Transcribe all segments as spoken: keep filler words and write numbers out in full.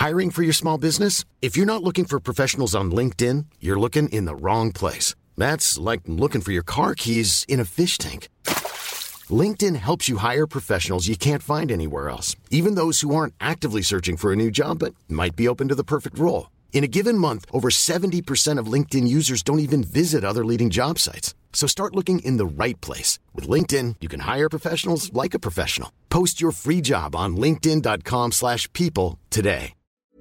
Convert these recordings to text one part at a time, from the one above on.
Hiring for your small business? If you're not looking for professionals on LinkedIn, you're looking in the wrong place. That's like looking for your car keys in a fish tank. LinkedIn helps you hire professionals you can't find anywhere else, even those who aren't actively searching for a new job but might be open to the perfect role. In a given month, over seventy percent of LinkedIn users don't even visit other leading job sites. So start looking in the right place. With LinkedIn, you can hire professionals like a professional. Post your free job on linkedin.com slash people today.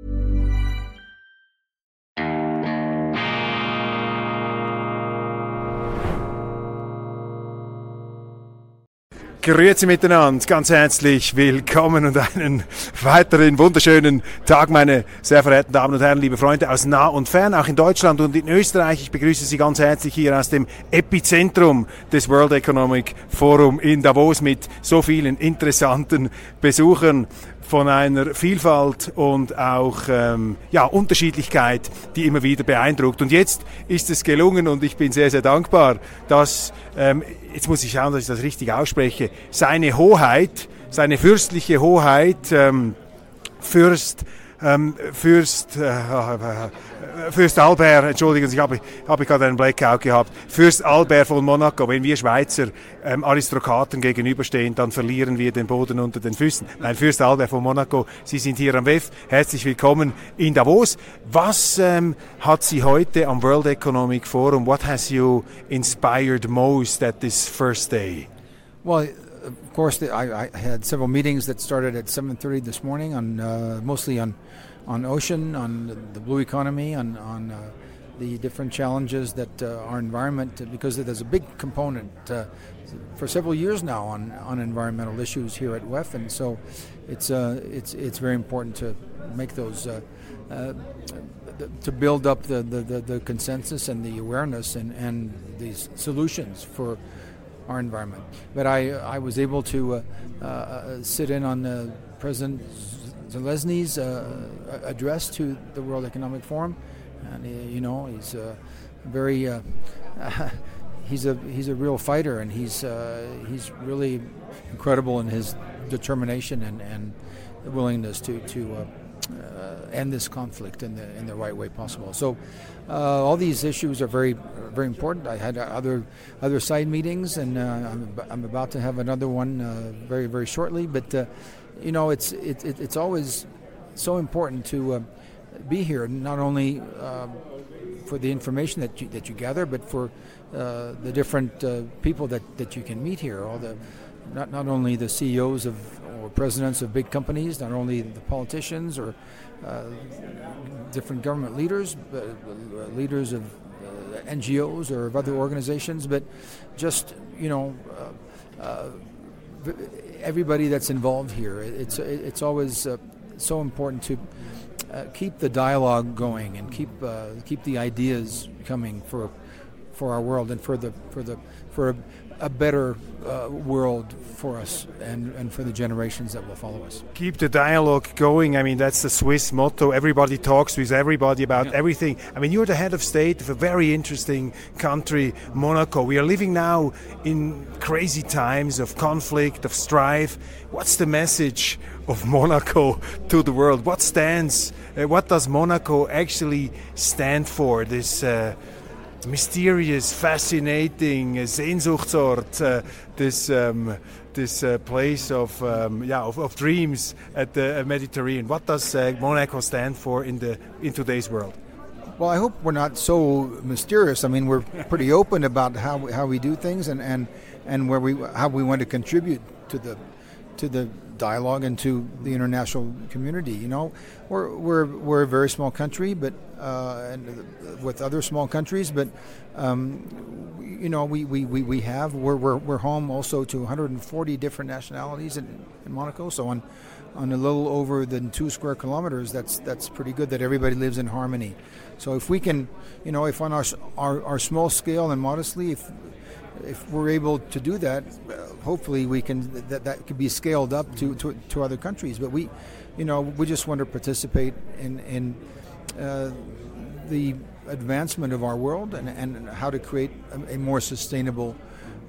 Grüezi miteinander, ganz herzlich willkommen und einen weiteren wunderschönen Tag, meine sehr verehrten Damen und Herren, liebe Freunde aus nah und fern, auch in Deutschland und in Österreich. Ich begrüße Sie ganz herzlich hier aus dem Epizentrum des World Economic Forum in Davos mit so vielen interessanten Besuchern von einer Vielfalt und auch ähm, ja, Unterschiedlichkeit, die immer wieder beeindruckt. Und jetzt ist es gelungen und ich bin sehr, sehr dankbar, dass, ähm, jetzt muss ich schauen, dass ich das richtig ausspreche, seine Hoheit, seine fürstliche Hoheit, ähm, Fürst, ähm, Fürst, äh, Fürst Albert, entschuldigen Sie, ich habe, habe gerade einen Blackout gehabt, Fürst Albert von Monaco. Wenn wir Schweizer ähm, Aristokraten gegenüberstehen, dann verlieren wir den Boden unter den Füßen. Nein, Fürst Albert von Monaco, Sie sind hier am W E F. Herzlich willkommen in Davos. Was ähm, hat Sie heute am World Economic Forum, what has you inspired most at this first day? Well, of course, the, I, I had several meetings that started at seven thirty this morning, on uh, mostly on on ocean, on the blue economy, on on uh, the different challenges that uh, our environment, because there's a big component uh, for several years now on, on environmental issues here at W E F, and so it's uh, it's it's very important to make those uh, uh, to build up the, the, the, the consensus and the awareness and, and these solutions for our environment. But I I was able to uh, uh, sit in on uh, President Zelensky's uh, address to the World Economic Forum, and uh, you know he's uh, very uh, he's a he's a real fighter, and he's uh, he's really incredible in his determination and, and willingness to to uh, uh, end this conflict in the in the right way possible. So uh, all these issues are very very important. I had other other side meetings, and uh, I'm I'm about to have another one uh, very very shortly. But uh, you know, it's it, it, it's always so important to uh, be here, not only um, for the information that you, that you gather, but for uh, the different uh, people that, that you can meet here. All the not not only the C E Os of or presidents of big companies, not only the politicians or uh, different government leaders, but uh, leaders of uh, N G Os or of other organizations, but just you know. Uh, uh, everybody that's involved here. It's it's always uh, so important to uh, keep the dialogue going and keep uh, keep the ideas coming for for our world and for the for the for a, a better uh, world for us and, and for the generations that will follow us. Keep the dialogue going. I mean, that's the Swiss motto. Everybody talks with everybody about yeah. everything. I mean, you're the head of state of a very interesting country, Monaco. We are living now in crazy times of conflict, of strife. What's the message of Monaco to the world? What stands, uh, what does Monaco actually stand for? This uh, mysterious, fascinating uh, Sehnsuchtsort, uh, this um, this uh, place of um, yeah of, of dreams at the Mediterranean. What does uh, Monaco stand for in the in today's world? Well, I hope we're not so mysterious. I mean, we're pretty open about how we, how we do things and, and, and where we how we want to contribute to the to the dialogue and to the international community. You know, we're we're we're a very small country, but uh, and with other small countries, but um, you know, we, we, we, we have we're, we're we're home also to one hundred forty different nationalities in, in Monaco. So on on a little over than two square kilometers, that's that's pretty good that everybody lives in harmony. So if we can, you know, if on our our, our small scale and modestly, if if we're able to do that, hopefully we can that that could be scaled up to, to, to other countries. But we, you know, we just want to participate in in uh, the advancement of our world and, and how to create a, a more sustainable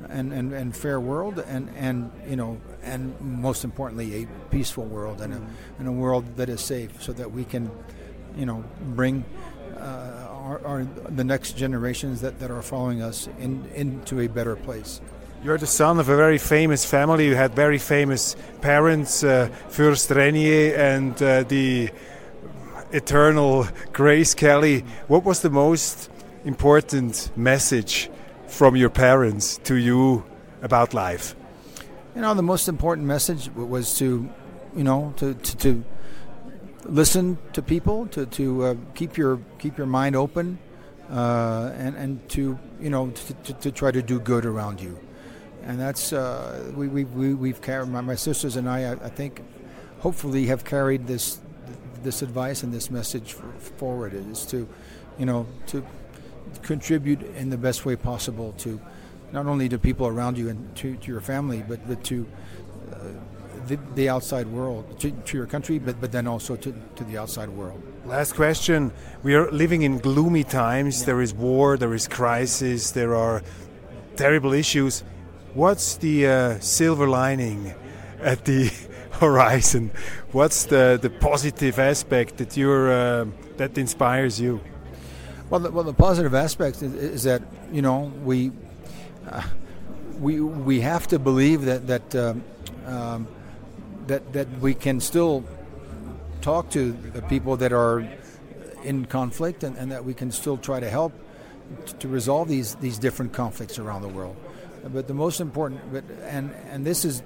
and, and, and fair world, and, and you know, and most importantly, a peaceful world and a, and a world that is safe, so that we can, you know, bring uh, our, our the next generations that, that are following us in, into a better place. You're the son of a very famous family. You had very famous parents, uh, Fürst Renier and uh, the eternal Grace Kelly. What was the most important message from your parents to you about life? You know, the most important message was to, you know, to to, to listen to people, to to uh, keep your keep your mind open, uh, and and to you know to, to, to try to do good around you, and that's uh, we we we we've carried my, my sisters and I, I I think, hopefully have carried this this advice and this message forward. It is to, you know, to contribute in the best way possible to not only to people around you and to, to your family, but, but to uh, the, the outside world, to, to your country, but, but then also to, to the outside world. Last question. We are living in gloomy times. Yeah. There is war, there is crisis, there are terrible issues. What's the uh, silver lining at the horizon? What's the, the positive aspect that you're uh, that inspires you? Well, the, well, the positive aspect is, is that, you know, we uh, we we have to believe that that um, um, that that we can still talk to the people that are in conflict, and, and that we can still try to help t- to resolve these these different conflicts around the world. But the most important, but and and this is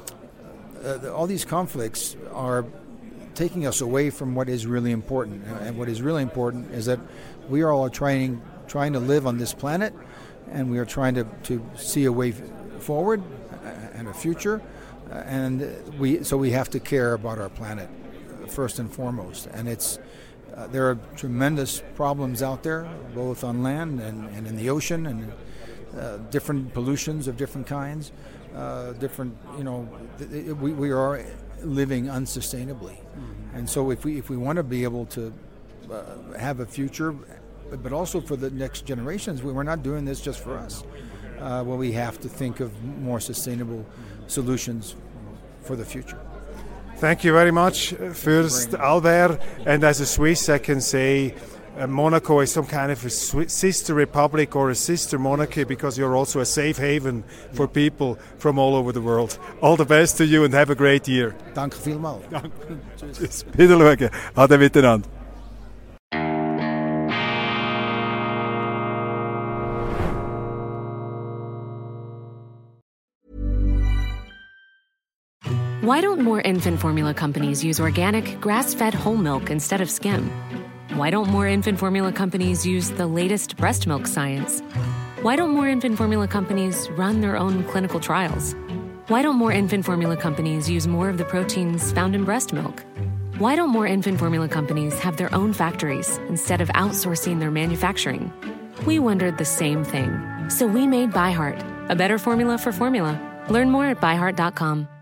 uh, all these conflicts are taking us away from what is really important, and what is really important is that we are all trying trying to live on this planet, and we are trying to, to see a way forward and a future, and we so we have to care about our planet first and foremost. And it's uh, there are tremendous problems out there, both on land and, and in the ocean, and uh, different pollutions of different kinds, uh, different you know we we are living unsustainably, mm-hmm. and so if we if we want to be able to uh, have a future, but, but also for the next generations, we, we're not doing this just for us. Uh, well, we have to think of more sustainable solutions for the future. Thank you very much, Fürst Albert. And as a Swiss, I can say uh, Monaco is some kind of a Swiss sister republic or a sister monarchy, because you're also a safe haven for people from all over the world. All the best to you and have a great year. Danke vielmals. Tschüss. Wieder schauen. Ade miteinander. Why don't more infant formula companies use organic, grass-fed whole milk instead of skim? Why don't more infant formula companies use the latest breast milk science? Why don't more infant formula companies run their own clinical trials? Why don't more infant formula companies use more of the proteins found in breast milk? Why don't more infant formula companies have their own factories instead of outsourcing their manufacturing? We wondered the same thing. So we made ByHeart, a better formula for formula. Learn more at by heart dot com.